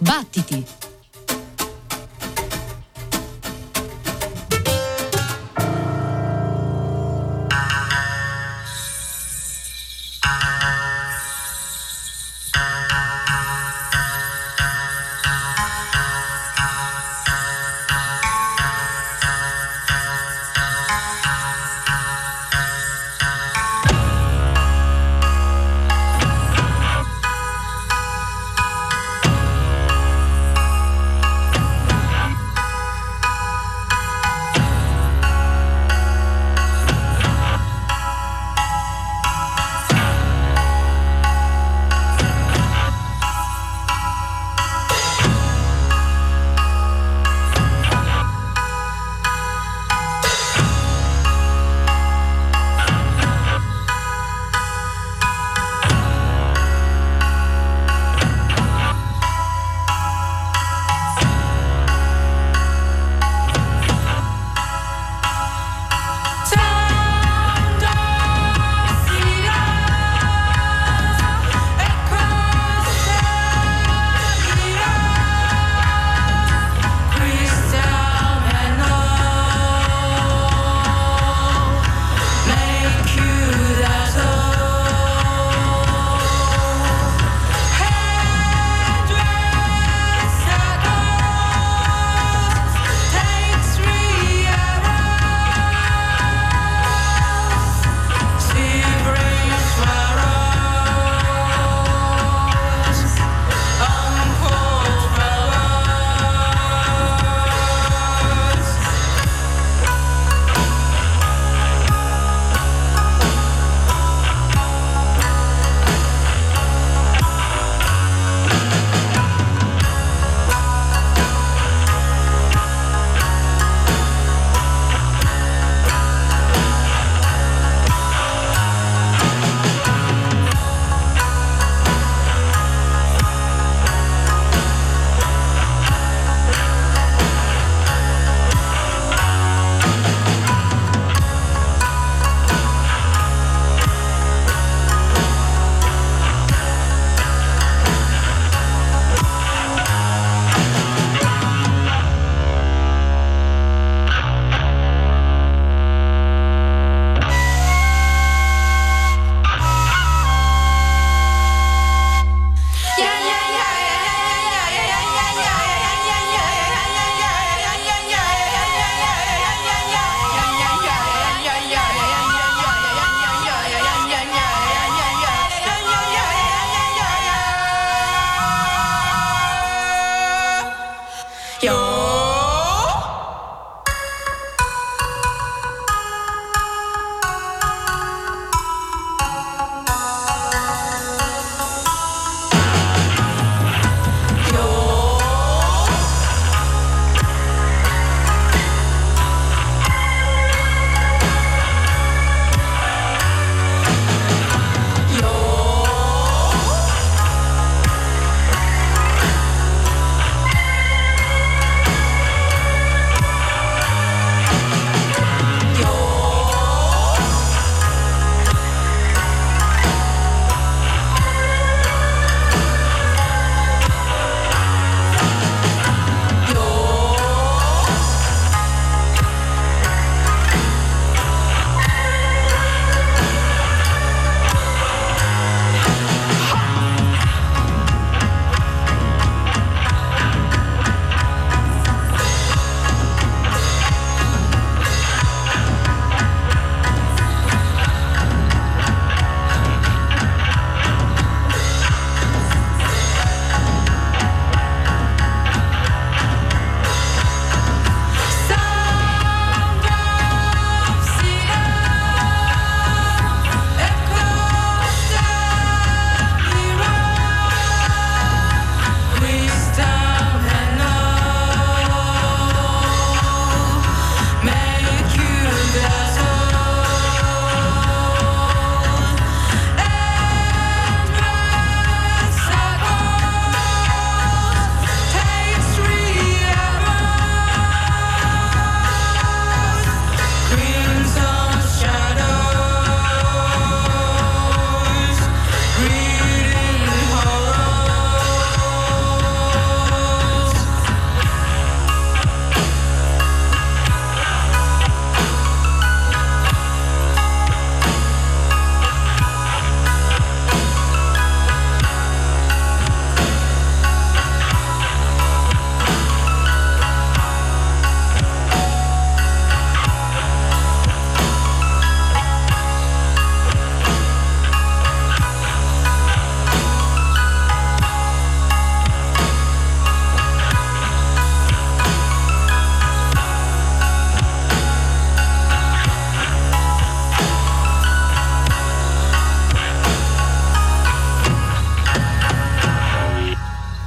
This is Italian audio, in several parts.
Battiti!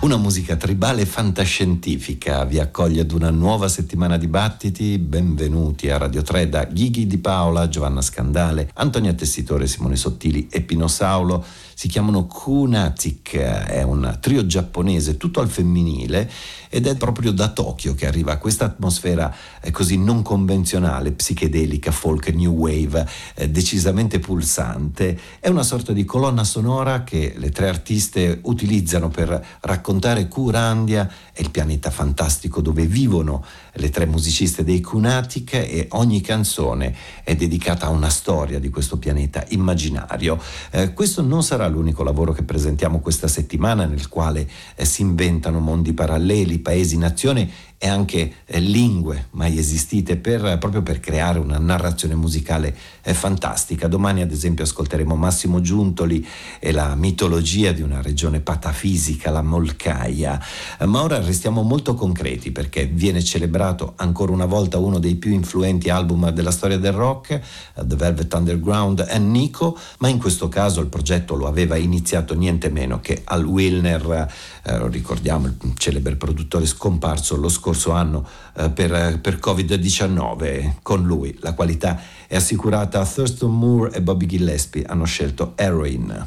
Una musica tribale e fantascientifica vi accoglie ad una nuova settimana di battiti. Benvenuti a Radio 3 da Ghighi Di Paola, Giovanna Scandale, Antonia Tessitore, Simone Sottili e Pino Saulo. Si chiamano Kunatic, è un trio giapponese tutto al femminile ed è proprio da Tokyo che arriva questa atmosfera così non convenzionale, psichedelica, folk, new wave, decisamente pulsante. È una sorta di colonna sonora che le tre artiste utilizzano per raccontare Kurandia, è il pianeta fantastico dove vivono le tre musiciste dei Kunatic, e ogni canzone è dedicata a una storia di questo pianeta immaginario. Questo non sarà l'unico lavoro che presentiamo questa settimana, nel quale si inventano mondi paralleli, paesi, nazioni e anche lingue mai esistite proprio per creare una narrazione musicale fantastica. Domani ad esempio ascolteremo Massimo Giuntoli e la mitologia di una regione patafisica, la Molcaia. Ma ora restiamo molto concreti, perché viene celebrato ancora una volta uno dei più influenti album della storia del rock, The Velvet Underground e Nico, ma in questo caso il progetto lo aveva iniziato niente meno che Al Wilner, ricordiamo il celebre produttore scomparso lo scorso anno per Covid-19. Con lui la qualità è assicurata. Thurston Moore e Bobby Gillespie hanno scelto Heroin.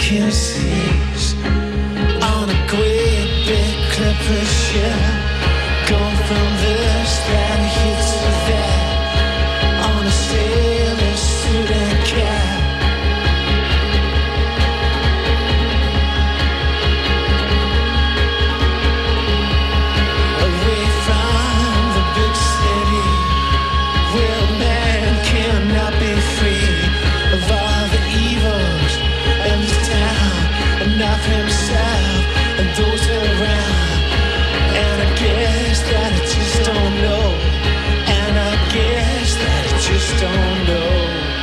can seize on a great big clipper ship, going from this that hits to that on a sailor suit and cap. Away from the big city where man cannot be free of all the evils in this town and of himself and those around. And I guess that I just don't know. And I guess that I just don't know.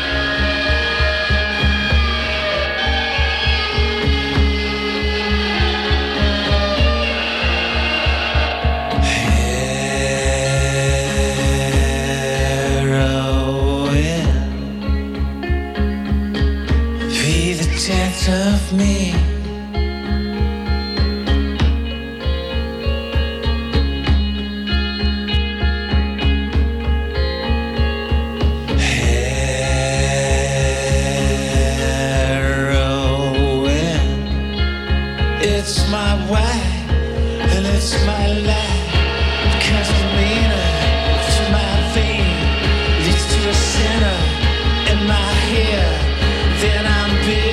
Of me, heroin, it's my wife and it's my life, because the meaner to my vein leads to a sinner in my hair, then I'm big.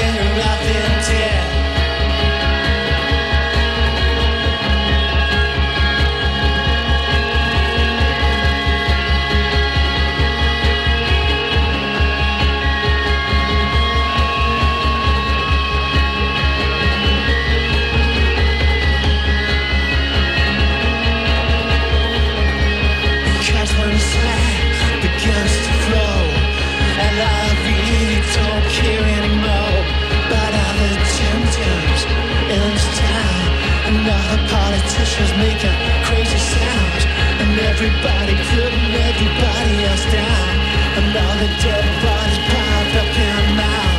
Politicians making crazy sounds, and everybody putting everybody else down, and all the dead bodies piled up in mounds.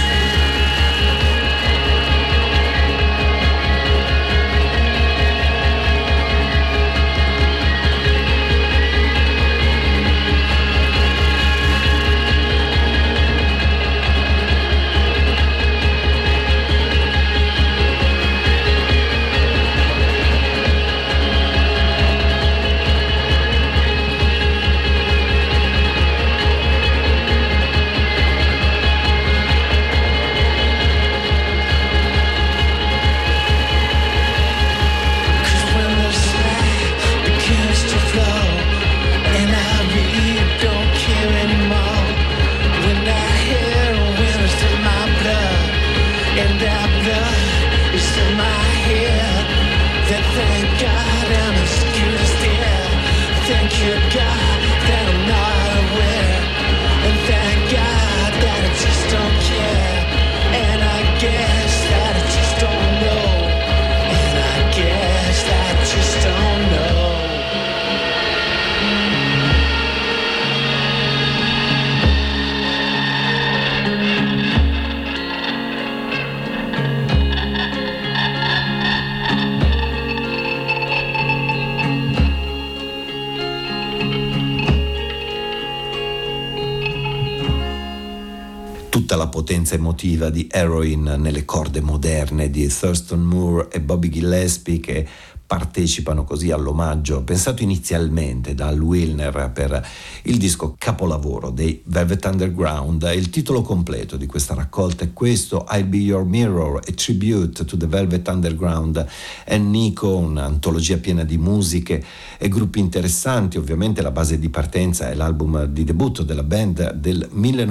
La potenza emotiva di Heroin nelle corde moderne di Thurston Moore e Bobby Gillespie, che partecipano così all'omaggio pensato inizialmente da Al Wilner per il disco capolavoro dei Velvet Underground. Il titolo completo di questa raccolta è questo: I'll Be Your Mirror, a tribute to the Velvet Underground and Nico, un'antologia piena di musiche e gruppi interessanti. Ovviamente la base di partenza è l'album di debutto della band del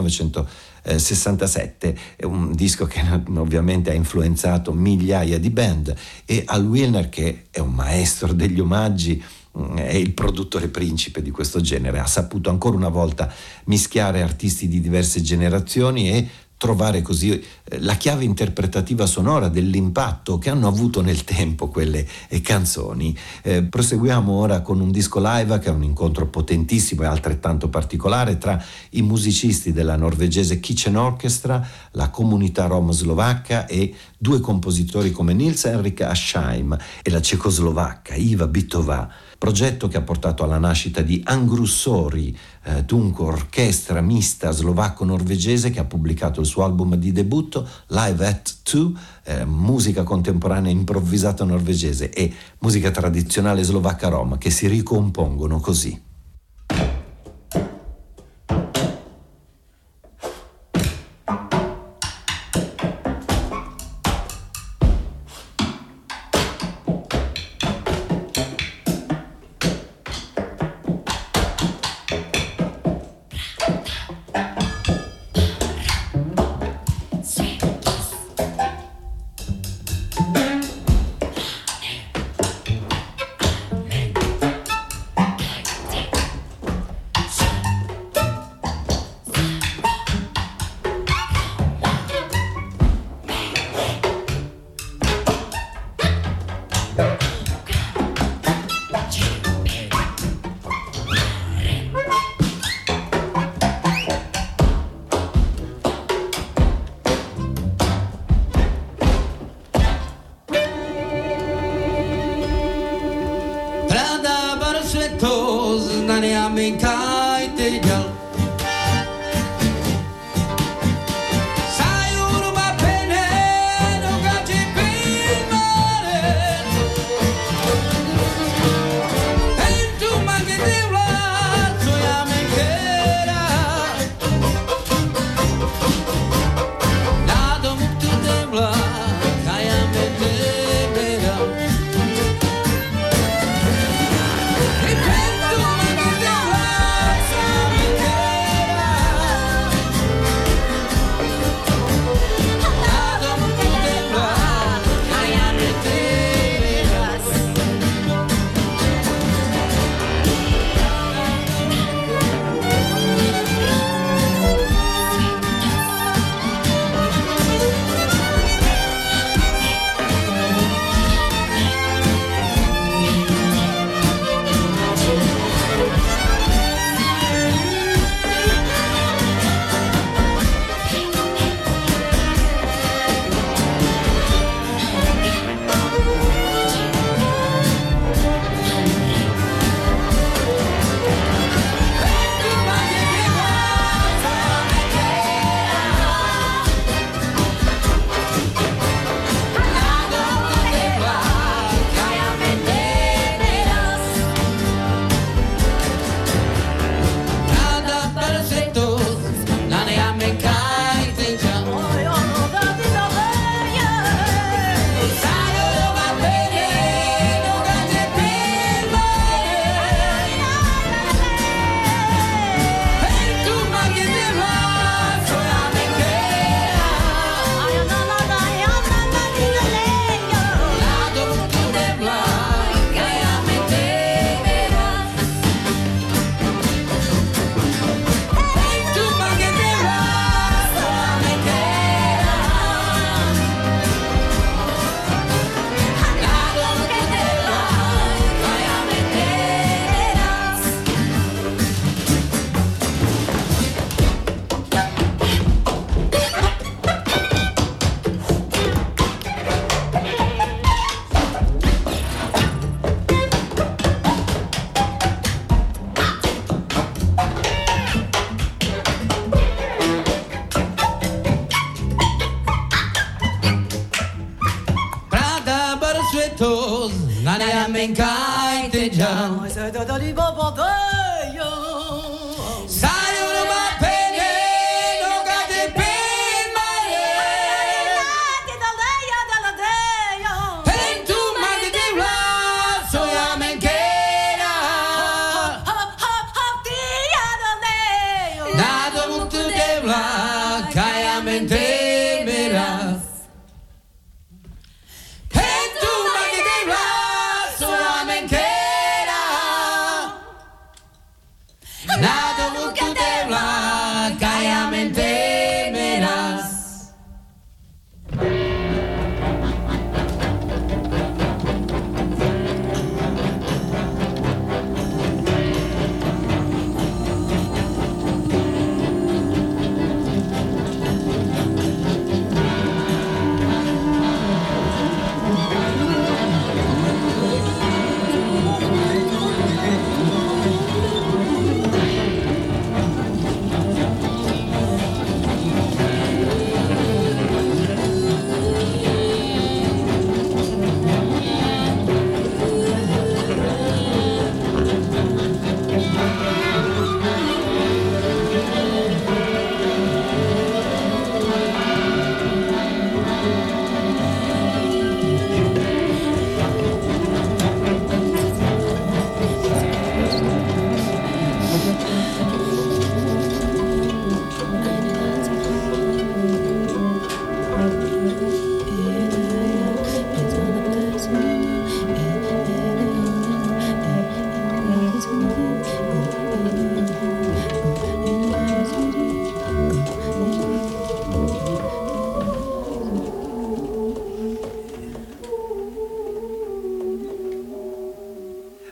1967, è un disco che ovviamente ha influenzato migliaia di band, e Al Wilner, che è un maestro degli omaggi, è il produttore principe di questo genere, ha saputo ancora una volta mischiare artisti di diverse generazioni e trovare così la chiave interpretativa sonora dell'impatto che hanno avuto nel tempo quelle canzoni. Proseguiamo ora con un disco live che è un incontro potentissimo e altrettanto particolare tra i musicisti della norvegese Kitchen Orchestra, la comunità rom slovacca e due compositori come Nils Henrik Asheim e la cecoslovacca Iva Bytová. progetto che ha portato alla nascita di Angrussori, dunque orchestra mista slovacco-norvegese, che ha pubblicato il suo album di debutto Live at Two, musica contemporanea improvvisata norvegese e musica tradizionale slovacca rom che si ricompongono così.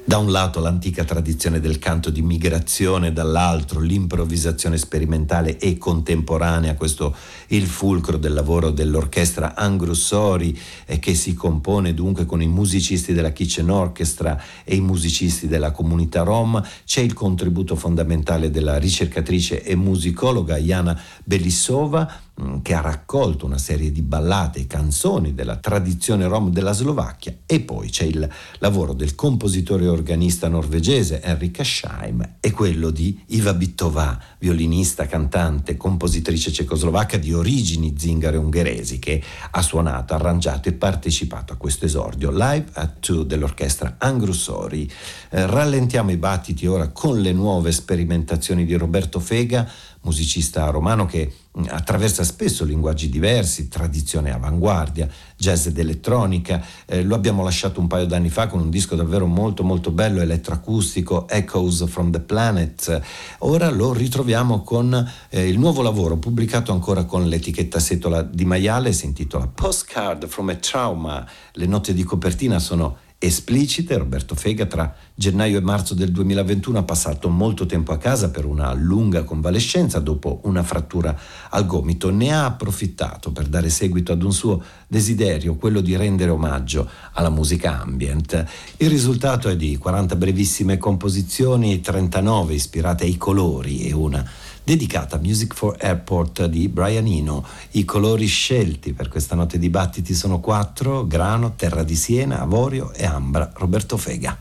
Da un lato l'antica tradizione del canto di migrazione, dall'altro l'improvvisazione sperimentale e contemporanea, questo il fulcro del lavoro dell'orchestra Angrussori, che si compone dunque con i musicisti della Kitchen Orchestra e i musicisti della comunità rom. C'è il contributo fondamentale della ricercatrice e musicologa Jana Belissova, che ha raccolto una serie di ballate e canzoni della tradizione rom della Slovacchia, e poi c'è il lavoro del compositore e organista norvegese Henrik Asheim e quello di Iva Byttová, violinista, cantante, compositrice cecoslovacca di origini zingare ungheresi, che ha suonato, arrangiato e partecipato a questo esordio Live at 2 dell'orchestra Angrussori. Rallentiamo i battiti ora con le nuove sperimentazioni di Roberto Fega, musicista romano che attraversa spesso linguaggi diversi, tradizione e avanguardia, jazz ed elettronica. Lo abbiamo lasciato un paio d'anni fa con un disco davvero molto molto bello, elettroacustico, Echoes from the Planet. Ora lo ritroviamo con il nuovo lavoro pubblicato ancora con l'etichetta Setola di Maiale, si intitola Postcard from a Trauma. Le note di copertina sono esplicite. Roberto Fega tra gennaio e marzo del 2021 ha passato molto tempo a casa per una lunga convalescenza dopo una frattura al gomito. Ne ha approfittato per dare seguito ad un suo desiderio, quello di rendere omaggio alla musica ambient. Il risultato è di 40 brevissime composizioni, 39 ispirate ai colori e una dedicata a Music for Airport di Brian Eno. I colori scelti per questa notte di battiti sono 4: grano, terra di siena, avorio e ambra. Roberto Fega.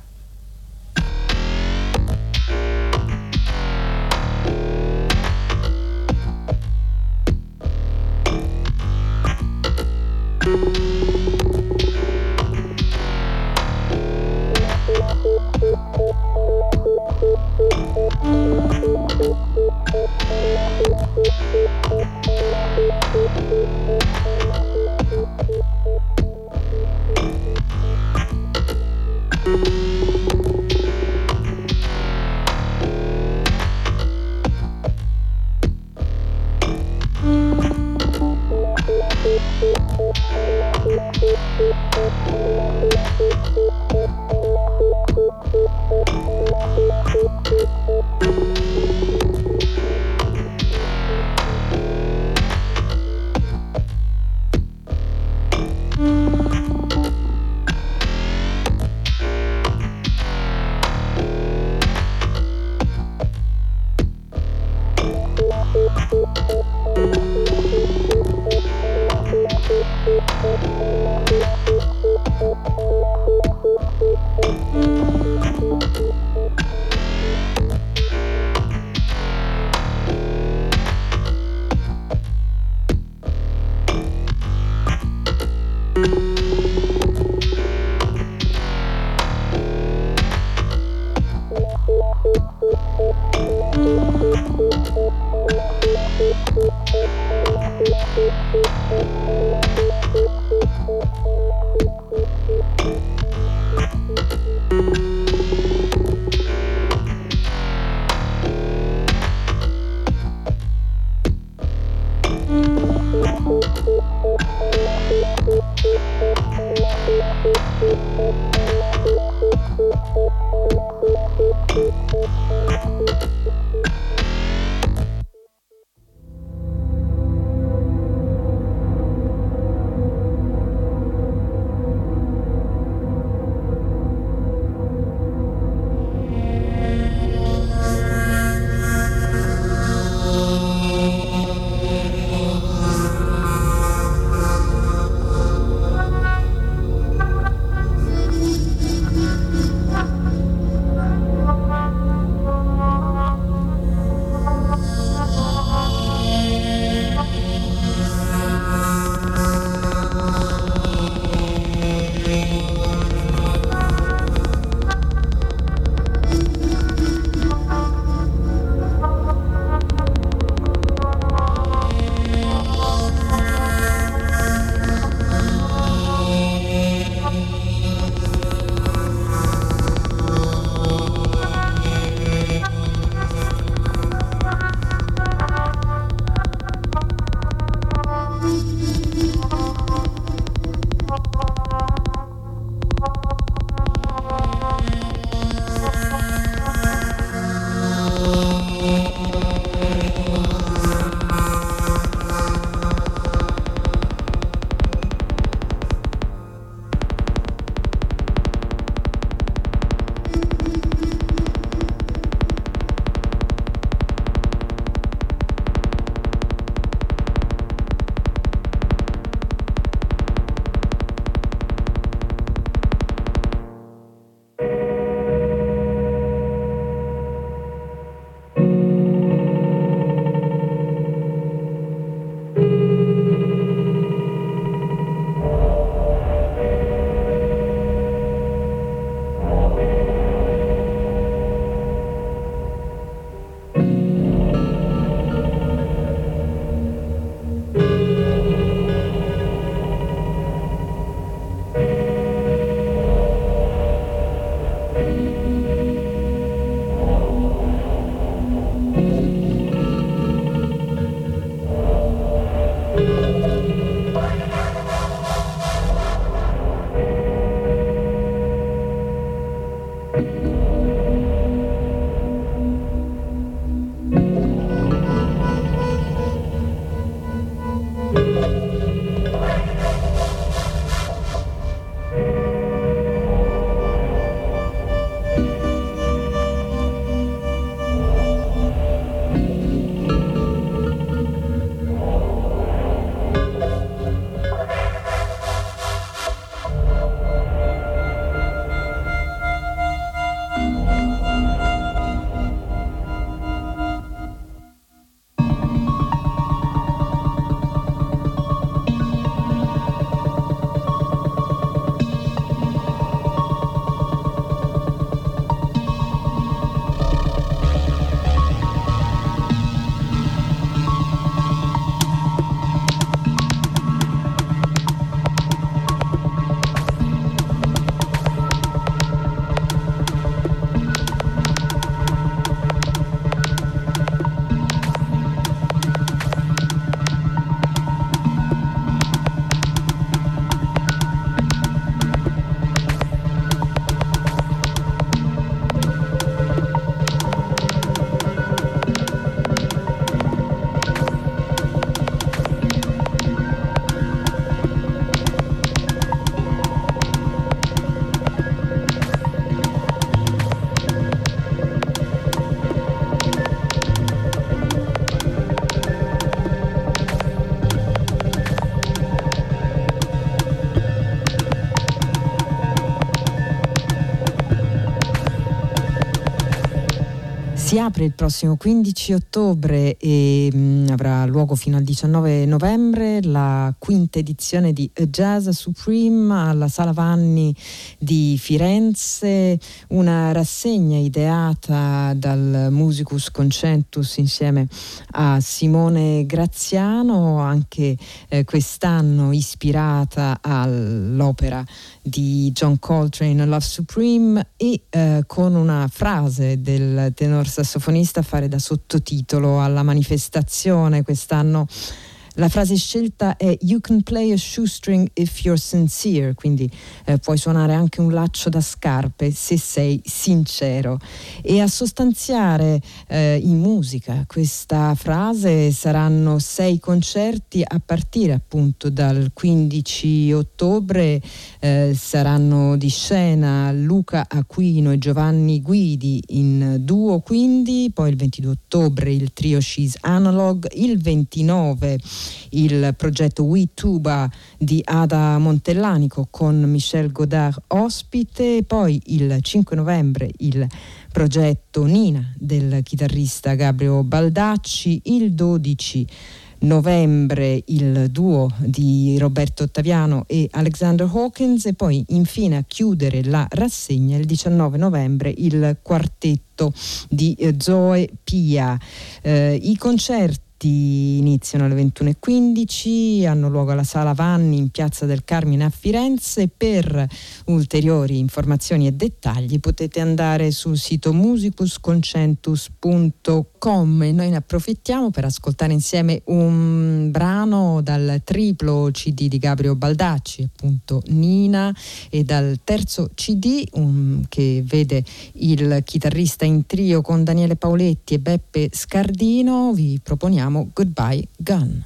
Si apre il prossimo 15 ottobre e avrà luogo fino al 19 novembre la quinta edizione di A Jazz Supreme alla Sala Vanni di Firenze, una rassegna ideata dal Musicus Concentus insieme a Simone Graziano, anche quest'anno ispirata all'opera di John Coltrane, Love Supreme, e con una frase del tenor sassofonista a fare da sottotitolo alla manifestazione. Quest'anno la frase scelta è "You can play a shoestring if you're sincere", quindi puoi suonare anche un laccio da scarpe se sei sincero. E a sostanziare in musica questa frase saranno 6 concerti a partire appunto dal 15 ottobre. Saranno di scena Luca Aquino e Giovanni Guidi in duo, quindi poi il 22 ottobre il trio She's Analog, il 29 il progetto We Tuba di Ada Montellanico con Michel Godard ospite, poi il 5 novembre il progetto Nina del chitarrista Gabriele Baldacci, il 12 novembre il duo di Roberto Ottaviano e Alexander Hawkins, e poi infine a chiudere la rassegna il 19 novembre il quartetto di Zoe Pia. I concerti iniziano alle 21:15, hanno luogo alla Sala Vanni in Piazza del Carmine a Firenze. Per ulteriori informazioni e dettagli potete andare sul sito musicusconcentus.com, e noi ne approfittiamo per ascoltare insieme un brano dal triplo CD di Gabriele Baldacci, appunto Nina, e dal terzo CD che vede il chitarrista in trio con Daniele Pauletti e Beppe Scardino. Vi proponiamo Goodbye Gun.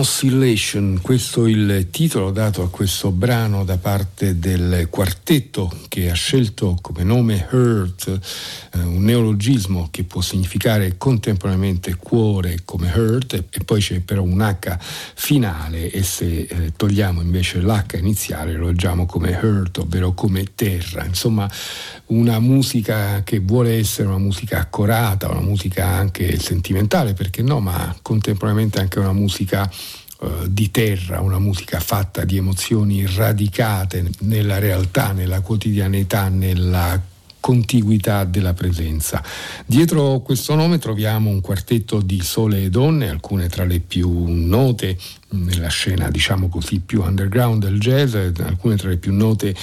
Oscillation, questo è il titolo dato a questo brano da parte del quartetto che ha scelto come nome Heart, un neologismo che può significare contemporaneamente cuore come Heart e poi c'è però un H finale e se togliamo invece l'H iniziale lo leggiamo come Heart, ovvero come terra. Insomma, una musica che vuole essere una musica accorata, una musica anche sentimentale, perché no, ma contemporaneamente anche una musica di terra, una musica fatta di emozioni radicate nella realtà, nella quotidianità, nella contiguità della presenza. Dietro questo nome troviamo un quartetto di sole e donne, alcune tra le più note nella scena, diciamo così, più underground del jazz, alcune tra le più note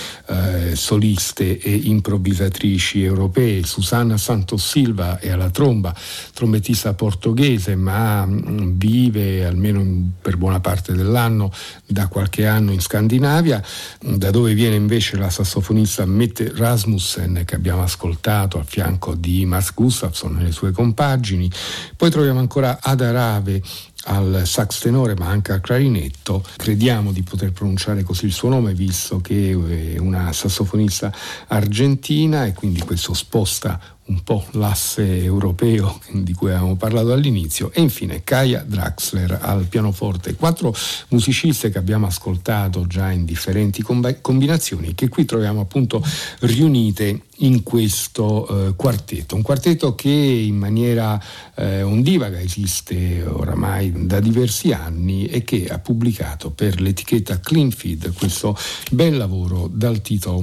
soliste e improvvisatrici europee. Susana Santos Silva è alla tromba, trombettista portoghese, ma vive almeno per buona parte dell'anno, da qualche anno in Scandinavia, da dove viene invece la sassofonista Mette Rasmussen, che abbiamo ascoltato al fianco di Mats Gustafsson e le sue compagini. Poi troviamo ancora Ada Rave al sax tenore ma anche al clarinetto. Crediamo di poter pronunciare così il suo nome visto che è una sassofonista argentina e quindi questo sposta un po' l'asse europeo di cui avevamo parlato all'inizio. E infine Kaja Draxler al pianoforte. 4 musiciste che abbiamo ascoltato già in differenti combinazioni, che qui troviamo appunto riunite in questo quartetto. Un quartetto che in maniera ondivaga esiste oramai da diversi anni e che ha pubblicato per l'etichetta Clean Feed questo bel lavoro dal titolo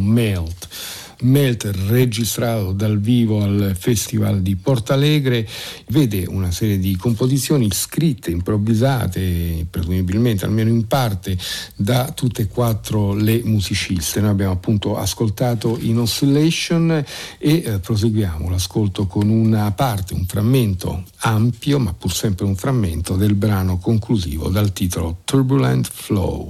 Melt, registrato dal vivo al Festival di Portalegre. Vede una serie di composizioni scritte, improvvisate, presumibilmente almeno in parte, da tutte e 4 le musiciste. Noi abbiamo appunto ascoltato In Oscillation e proseguiamo l'ascolto con una parte, un frammento ampio, ma pur sempre un frammento del brano conclusivo dal titolo Turbulent Flow.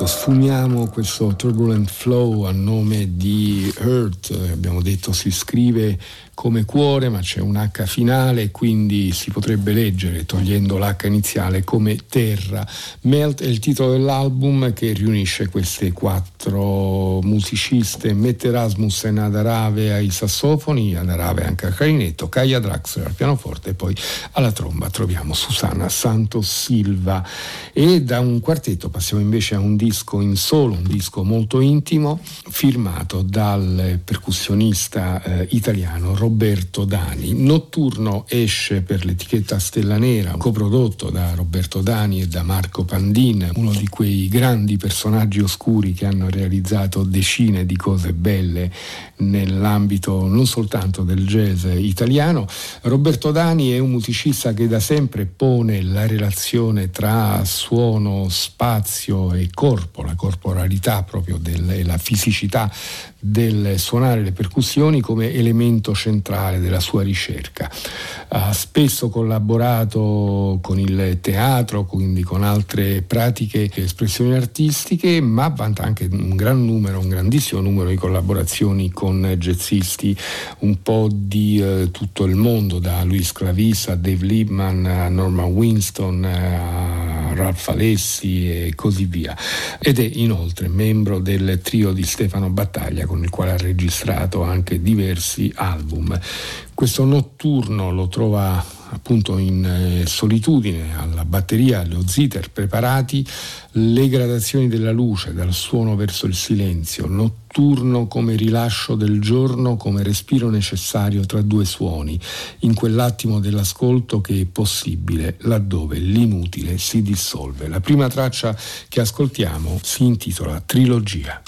appunto sfumiamo questo Turbulent Flow a nome di Hurt. Abbiamo detto si scrive come cuore, ma c'è un H finale, quindi si potrebbe leggere, togliendo l'H iniziale, come terra. Melt è il titolo dell'album che riunisce queste 4 musiciste: Mette Rasmussen ad Arave ai sassofoni, ad Arave anche al clarinetto, Kaia Draxler al pianoforte, e poi alla tromba troviamo Susana Santos Silva. E da un quartetto passiamo invece a un disco in solo, un disco molto intimo, firmato dal percussionista italiano Roberto Dani. Notturno esce per l'etichetta Stella Nera, coprodotto da Roberto Dani e da Marco Pandin, uno di quei grandi personaggi oscuri che hanno realizzato decine di cose belle nell'ambito non soltanto del jazz italiano. Roberto Dani è un musicista che da sempre pone la relazione tra suono, spazio e corpo, la corporalità proprio la fisicità del suonare le percussioni come elemento centrale della sua ricerca. Ha spesso collaborato con il teatro, quindi con altre pratiche e espressioni artistiche, ma vanta anche un grandissimo numero di collaborazioni con jazzisti un po' di tutto il mondo, da Luis Clavis a Dave Liebman a Norman Winston a Ralph Alessi e così via. Ed è inoltre membro del trio di Stefano Battaglia, con il quale ha registrato anche diversi album. Questo Notturno lo trova appunto in solitudine, alla batteria, allo zither preparati, le gradazioni della luce dal suono verso il silenzio. Notturno come rilascio del giorno, come respiro necessario tra 2 suoni, in quell'attimo dell'ascolto che è possibile laddove l'inutile si dissolve. La prima traccia che ascoltiamo si intitola Trilogia.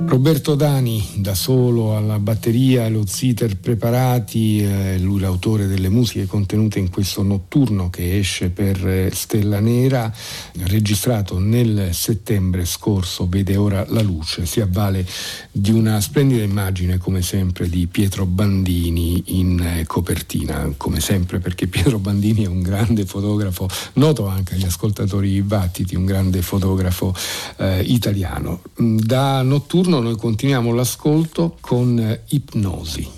Roberto Dani da solo alla batteria, lo zither preparati, lui l'autore delle musiche contenute in questo notturno che esce per Stella Nera, registrato nel settembre scorso, vede ora la luce, si avvale di una splendida immagine come sempre di Pietro Bandini in copertina, come sempre perché Pietro Bandini è un grande fotografo, noto anche agli ascoltatori di Battiti, un grande fotografo italiano. Da notturno noi continuiamo l'ascolto con Ipnosi.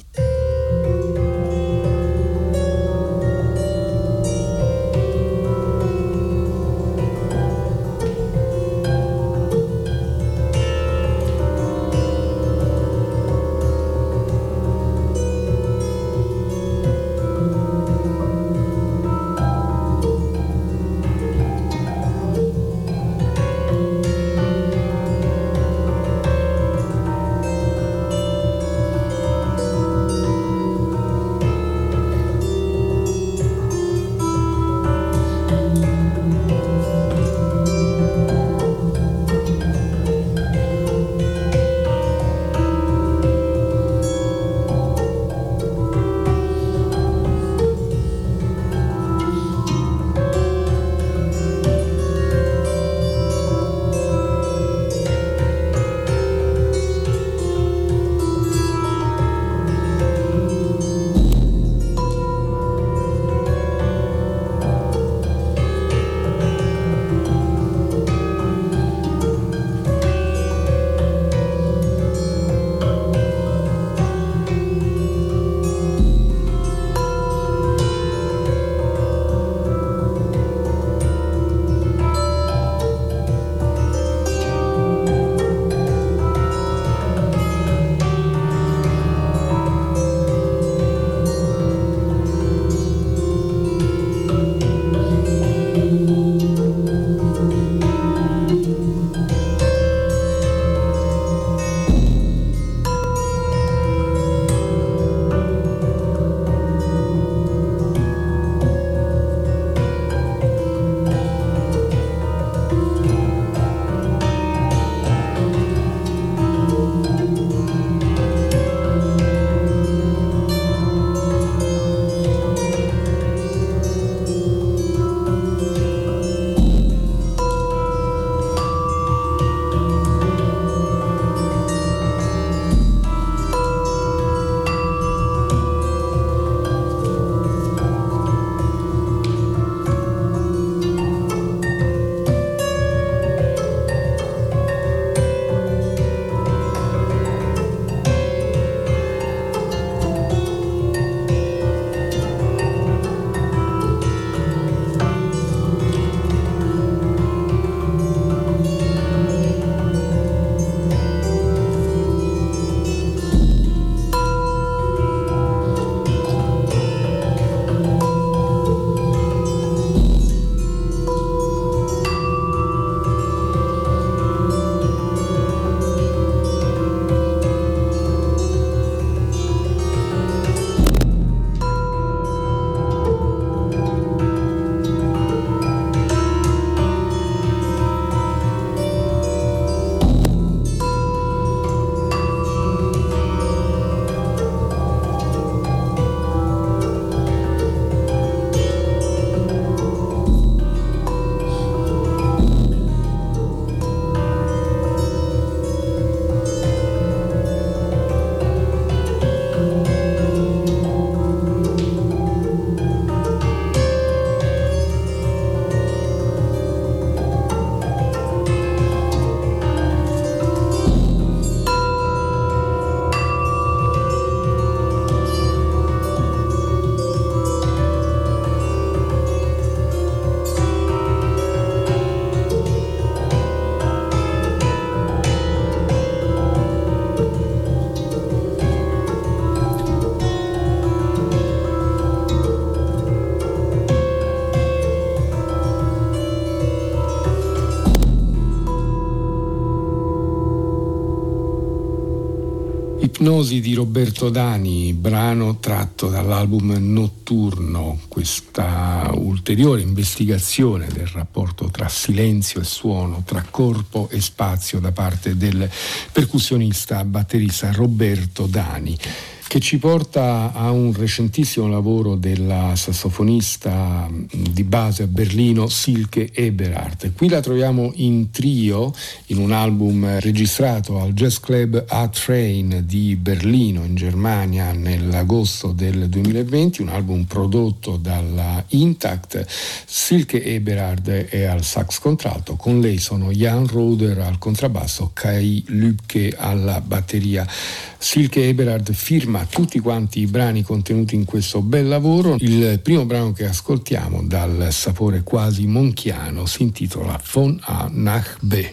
Ipnosi di Roberto Dani, brano tratto dall'album Notturno, questa ulteriore investigazione del rapporto tra silenzio e suono, tra corpo e spazio da parte del percussionista batterista Roberto Dani, che ci porta a un recentissimo lavoro della sassofonista di base a Berlino Silke Eberhardt. Qui la troviamo in trio in un album registrato al Jazz Club A-Train di Berlino in Germania nell'agosto del 2020, un album prodotto dalla Intact. Silke Eberhardt è al sax contralto, con lei sono Jan Roder al contrabbasso, Kai Lübke alla batteria. Silke Eberhardt firma tutti quanti i brani contenuti in questo bel lavoro. Il primo brano che ascoltiamo, dal sapore quasi monchiano, si intitola Von A nach B.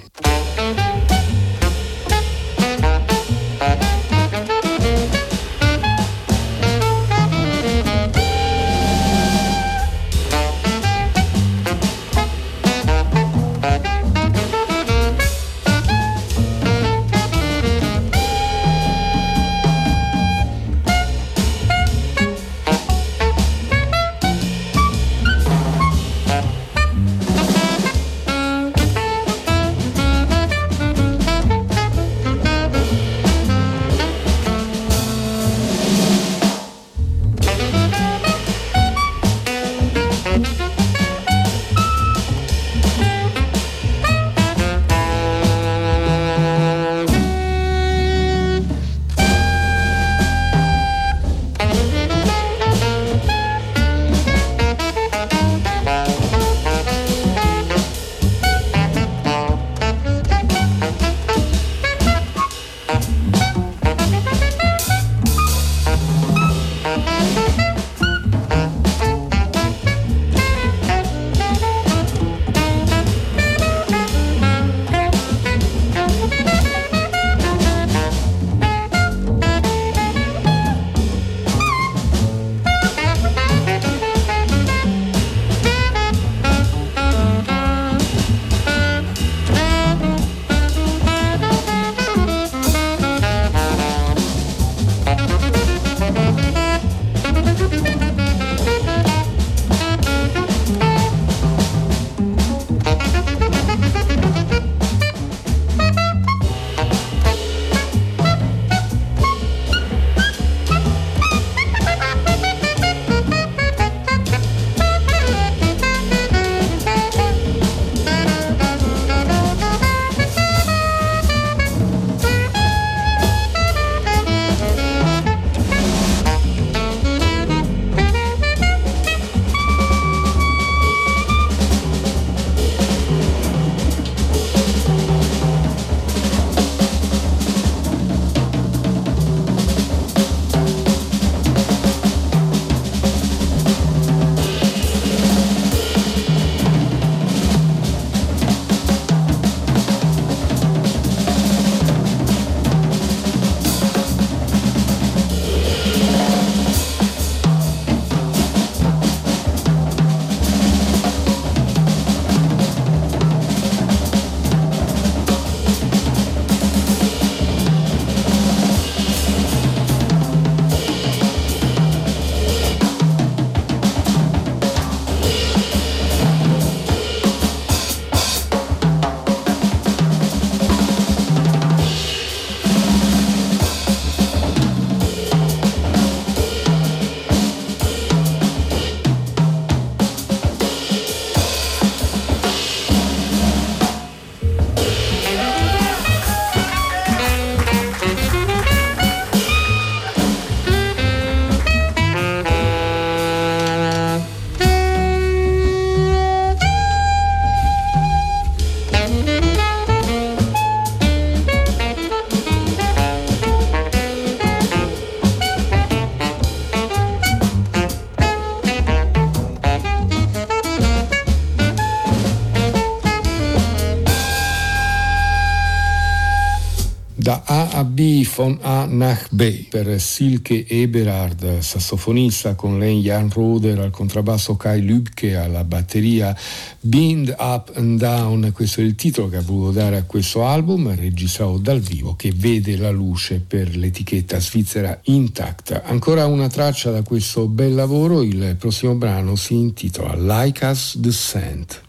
Da A a B, von A nach B, per Silke Eberhard, sassofonista, con lei Jan Roder al contrabbasso, Kai Lübke alla batteria, Bind Up and Down, questo è il titolo che ha voluto dare a questo album, registrato dal vivo, che vede la luce per l'etichetta svizzera Intact. Ancora una traccia da questo bel lavoro, il prossimo brano si intitola Like Us the Scent.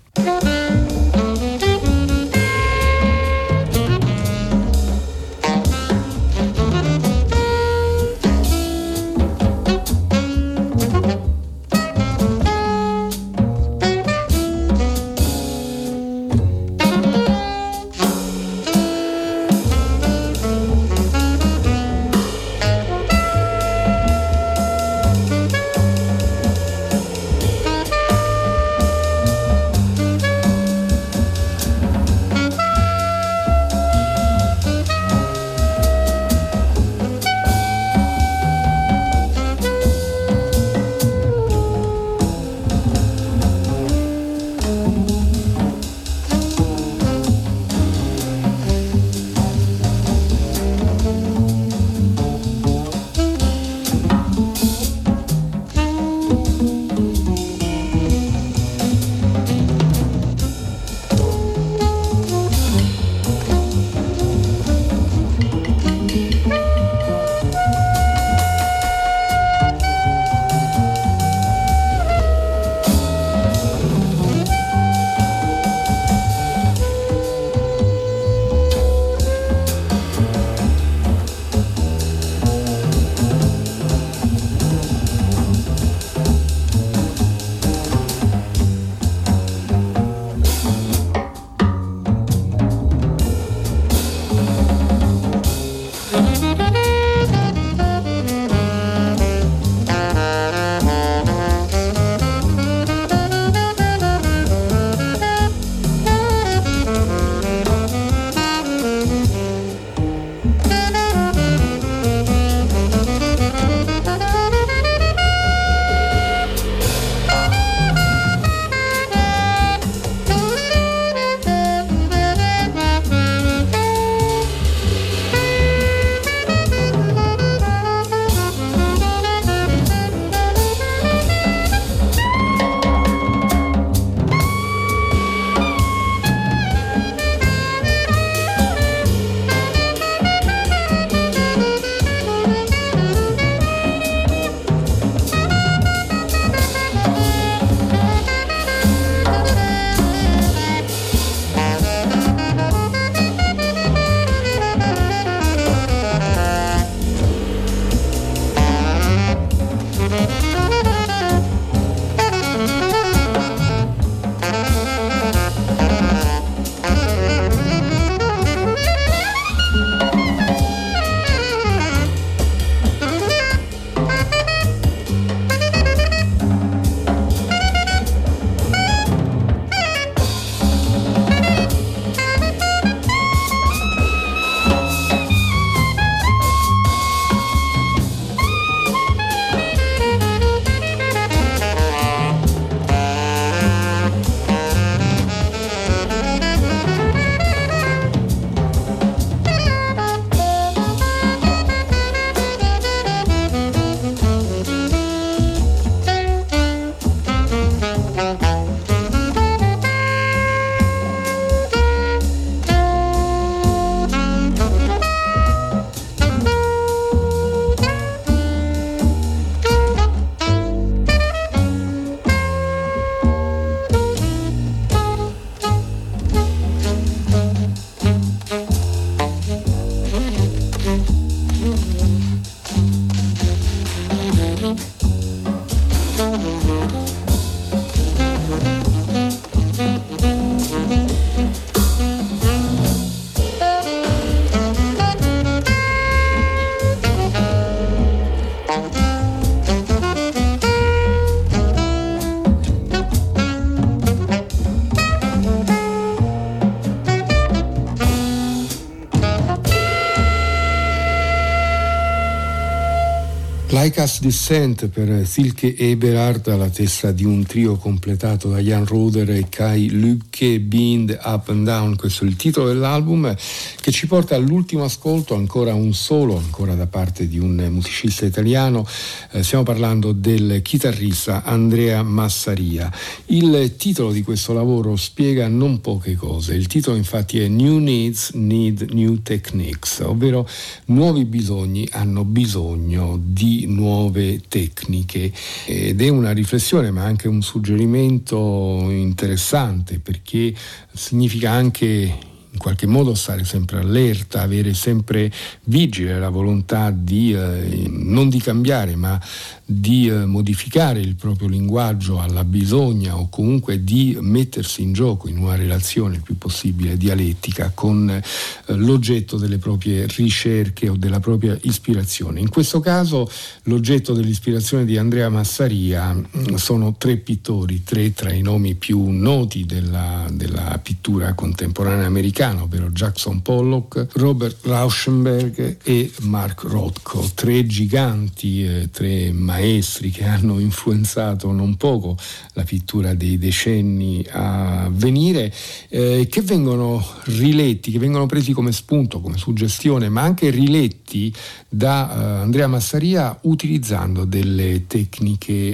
Like Us Descent per Silke Eberhard alla testa di un trio completato da Jan Roder e Kai Lübke, Bind Up and Down. Questo è il titolo dell'album che ci porta all'ultimo ascolto, ancora un solo, ancora da parte di un musicista italiano. Stiamo parlando del chitarrista Andrea Massaria. Il titolo di questo lavoro spiega non poche cose. Il titolo infatti è New Needs Need New Techniques, ovvero nuovi bisogni hanno bisogno di nuove tecniche, ed è una riflessione ma anche un suggerimento interessante, perché significa anche in qualche modo stare sempre allerta, avere sempre vigile la volontà di non di cambiare ma di modificare il proprio linguaggio alla bisogna, o comunque di mettersi in gioco in una relazione il più possibile dialettica con l'oggetto delle proprie ricerche o della propria ispirazione. In questo caso l'oggetto dell'ispirazione di Andrea Massaria sono tre pittori, tre tra i nomi più noti della pittura contemporanea americana, ovvero Jackson Pollock, Robert Rauschenberg e Mark Rothko, tre giganti, tre maestri che hanno influenzato non poco la pittura dei decenni a venire, che vengono riletti, che vengono presi come spunto, come suggestione, ma anche riletti da Andrea Massaria utilizzando delle tecniche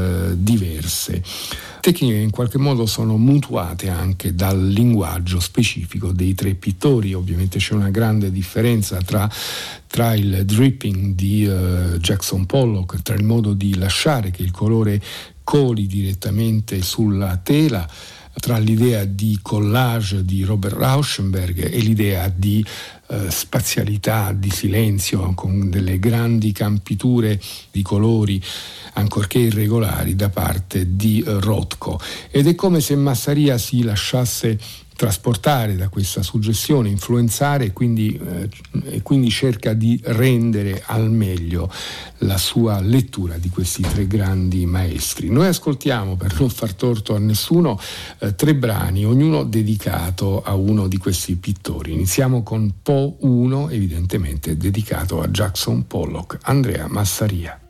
diverse. Tecniche che in qualche modo sono mutuate anche dal linguaggio specifico dei tre pittori. Ovviamente c'è una grande differenza tra il dripping di Jackson Pollock, tra il modo di lasciare che il colore coli direttamente sulla tela, tra l'idea di collage di Robert Rauschenberg e l'idea di spazialità, di silenzio, con delle grandi campiture di colori ancorché irregolari da parte di Rothko. Ed è come se Massaria si lasciasse trasportare da questa suggestione, influenzare, e quindi cerca di rendere al meglio la sua lettura di questi tre grandi maestri. Noi ascoltiamo, per non far torto a nessuno, tre brani, ognuno dedicato a uno di questi pittori. Iniziamo con Po 1, evidentemente dedicato a Jackson Pollock, Andrea Massaria.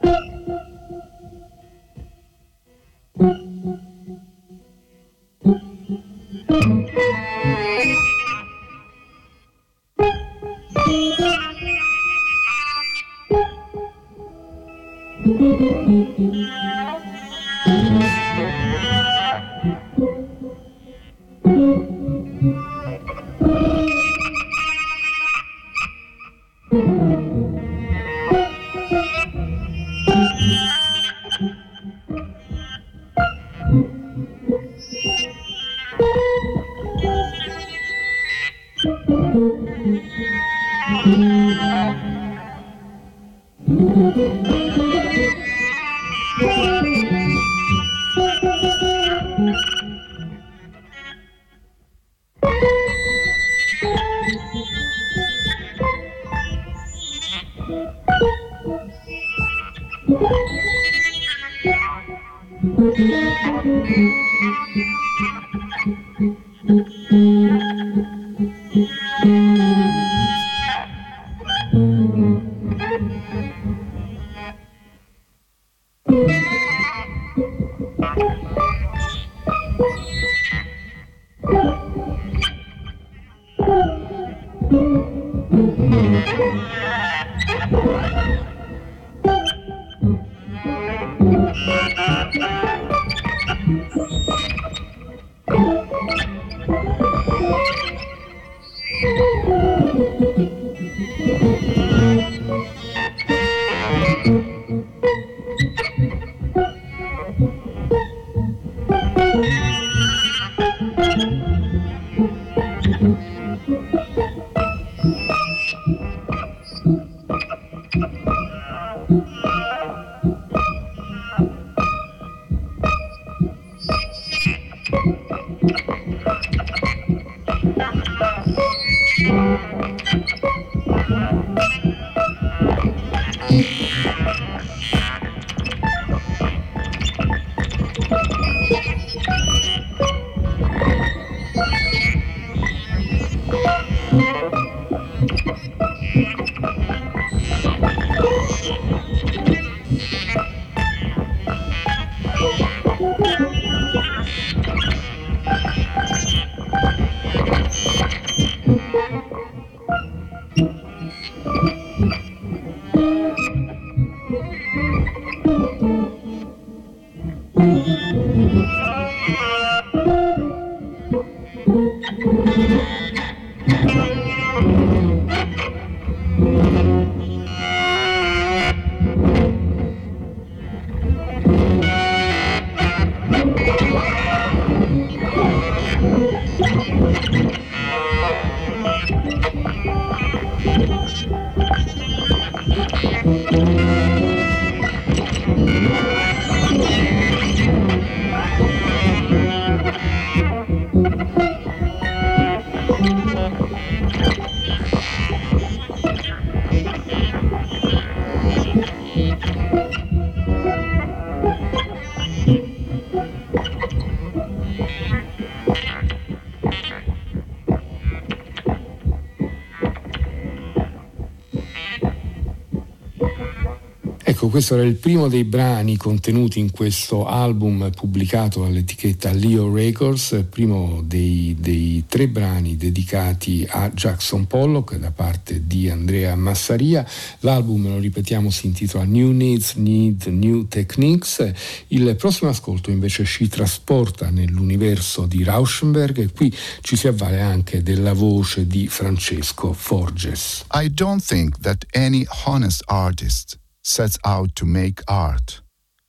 Ecco, questo era il primo dei brani contenuti in questo album pubblicato all'etichetta Leo Records, primo dei 3 brani dedicati a Jackson Pollock da parte di Andrea Massaria. L'album, lo ripetiamo, si intitola New Needs Need New Techniques. Il prossimo ascolto invece ci trasporta nell'universo di Rauschenberg e qui ci si avvale anche della voce di Francesco Forges. I don't think that any honest artist sets out to make art.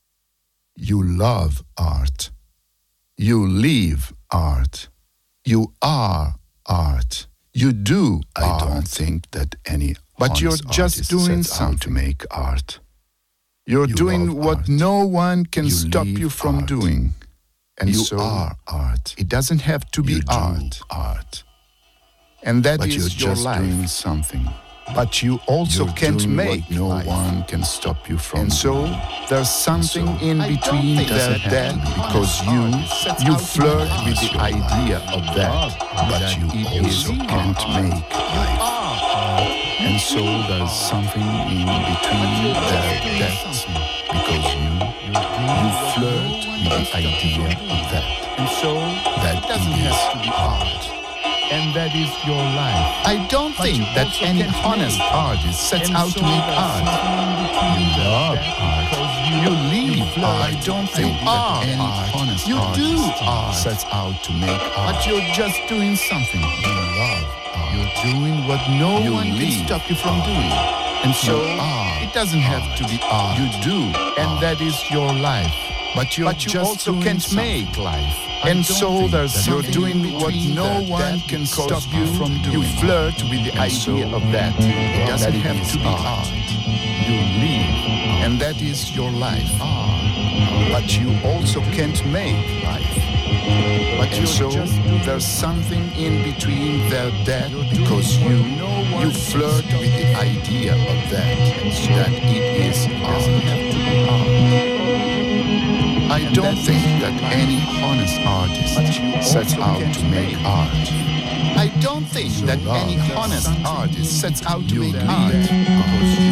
You love art. You live art. You are art. You do art. I don't think that any but you're just doing something to make art. You're doing what art. No one can stop you from art. Doing. And you so are art. It doesn't have to be art. And that but is your life. But you're just doing something. But you also can't make what no life. One can stop you from. And so there's something in between that because you flirt with the idea of that, but you also can't make life. And so there's something in between that because you flirt with the idea of that, and so that doesn't have to be art. And that is your life. I don't think that any honest artist sets out to make art. You love art. You live art. I don't think that any honest artist sets out to make art. But you're just doing something. You love art. You're doing what no one can stop you from doing. And so it doesn't have to be art. You do. And that is your life. But you also can't make life. And so you're doing what no one can stop you from doing. You flirt with the idea of that. It doesn't have to be art. You live, and that is your life. But you also can't make life. But and so there's something in between that because you flirt with the idea of that it is art. I don't think that any honest artist sets out to make art. I don't think that any honest artist sets out to make art. Because you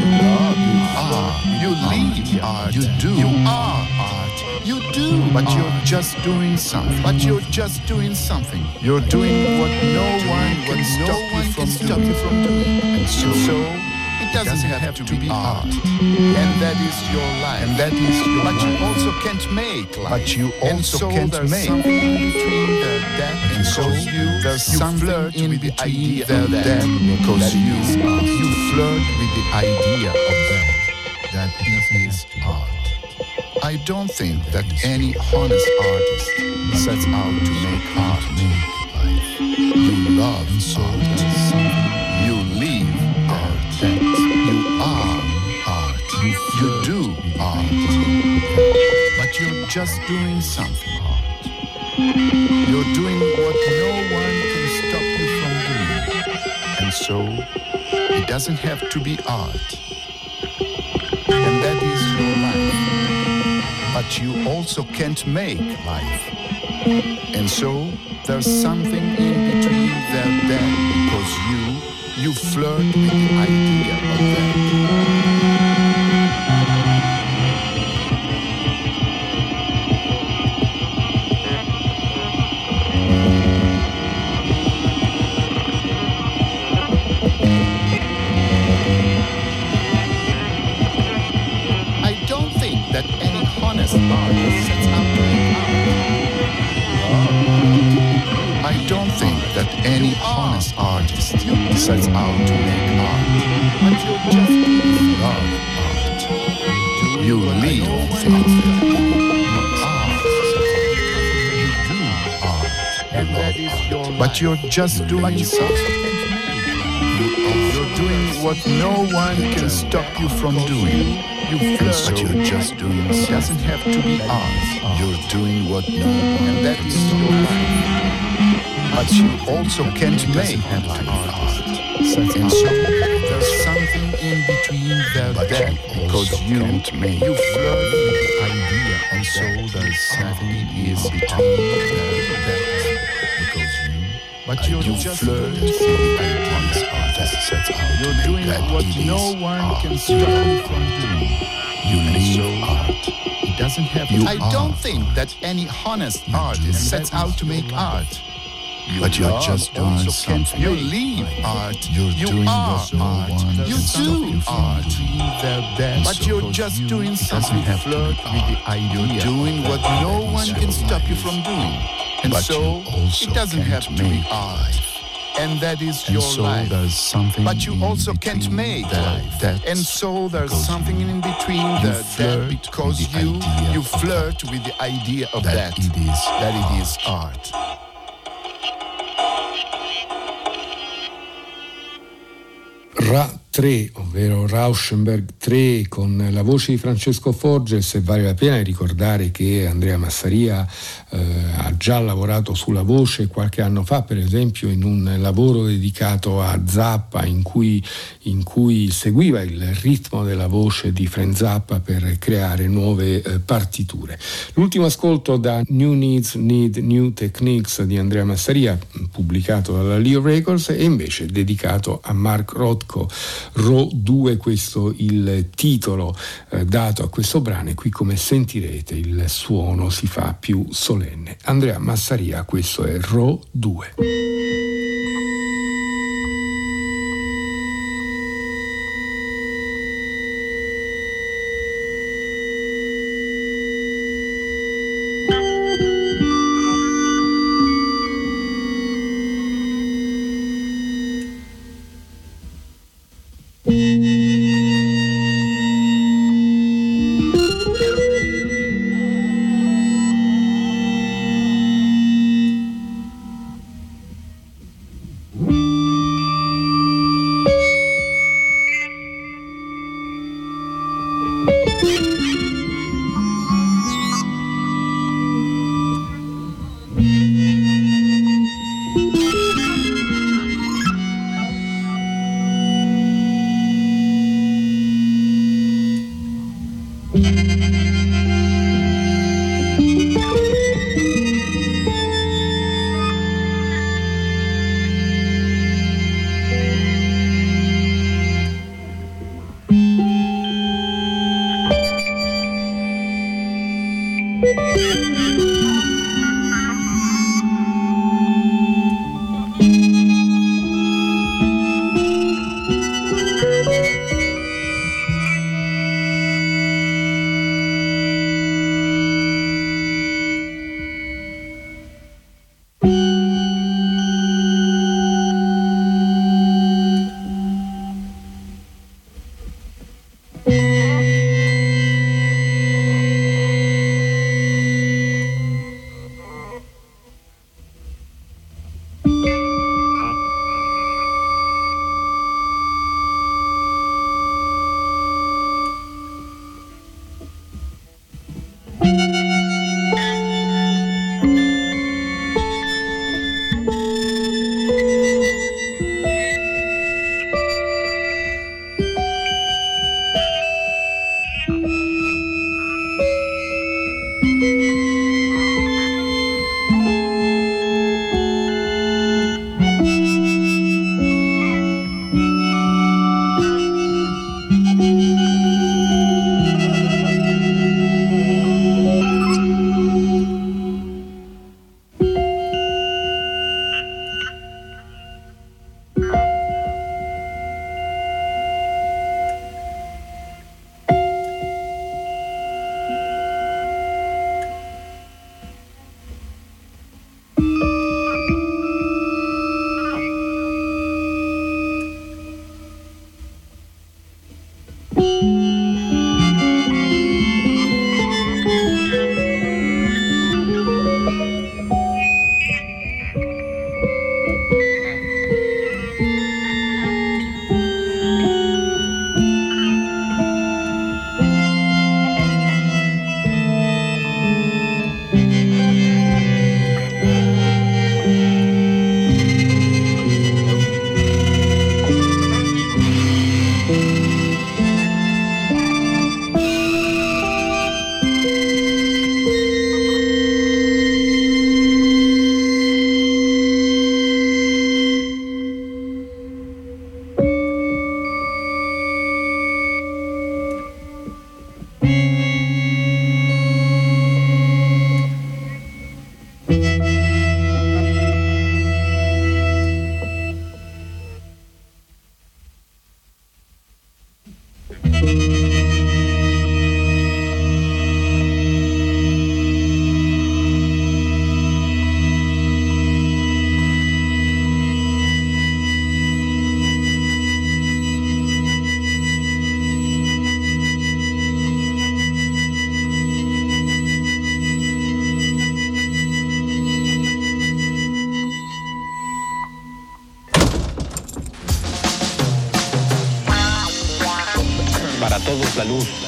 live art. You do. You are art. You do. But you're just doing something. You're doing what no one can stop you from doing. And so it doesn't have to be art. And that is your life. And that is your life. But you also can't make life. But you also can't make. And so there's something in between that because you flirt with the idea of that it is art. I don't think that any honest artist sets out to make art. You love art. You live art. You are art. You do art. But you're just doing something art. You're doing what no one can stop you from doing. And so it doesn't have to be art. And that is your life. But you also can't make life. And so there's something in between that because you flirt with the idea of that. Any honest artist sets out to make art. But you just love art. You live art. You do art. And that is your life. But you're just doing something. You're doing what no one can stop you from doing. But you're just doing something. It doesn't have to be art. You're doing what no one and that is your life. But you also can't make art. And so there's something in between that because you flirt with the idea. And so there's something in between that because but you flirt with the idea. You're doing what no one can stop you from doing. You live art. It doesn't have You I are don't think art. that any honest artist sets out to make art. But you're love just doing also can't something. You live art. You're you doing are what no art. one You can stop do you from art. doing. But you're just doing something have to flirt be with the art. idea. You're doing what no one can stop you from doing. And But so you also it doesn't can't have to be make art. And that is And your so life. there's something But you in also between can't make that, life. that And so there's because something in between you that flirt because with the you idea you of flirt with the idea of that that. it is That it art. is art. Ra 3, ovvero Rauschenberg 3, con la voce di Francesco Forges. E vale la pena ricordare che Andrea Massaria ha già lavorato sulla voce qualche anno fa, per esempio in un lavoro dedicato a Zappa, in cui seguiva il ritmo della voce di Frank Zappa per creare nuove partiture. L'ultimo ascolto da New Needs Need New Techniques di Andrea Massaria, pubblicato dalla Leo Records, e invece dedicato a Mark Rothko, Ro 2, questo il titolo dato a questo brano, e qui, come sentirete, il suono si fa più solenne. Andrea Massaria, questo è Ro 2. la luz.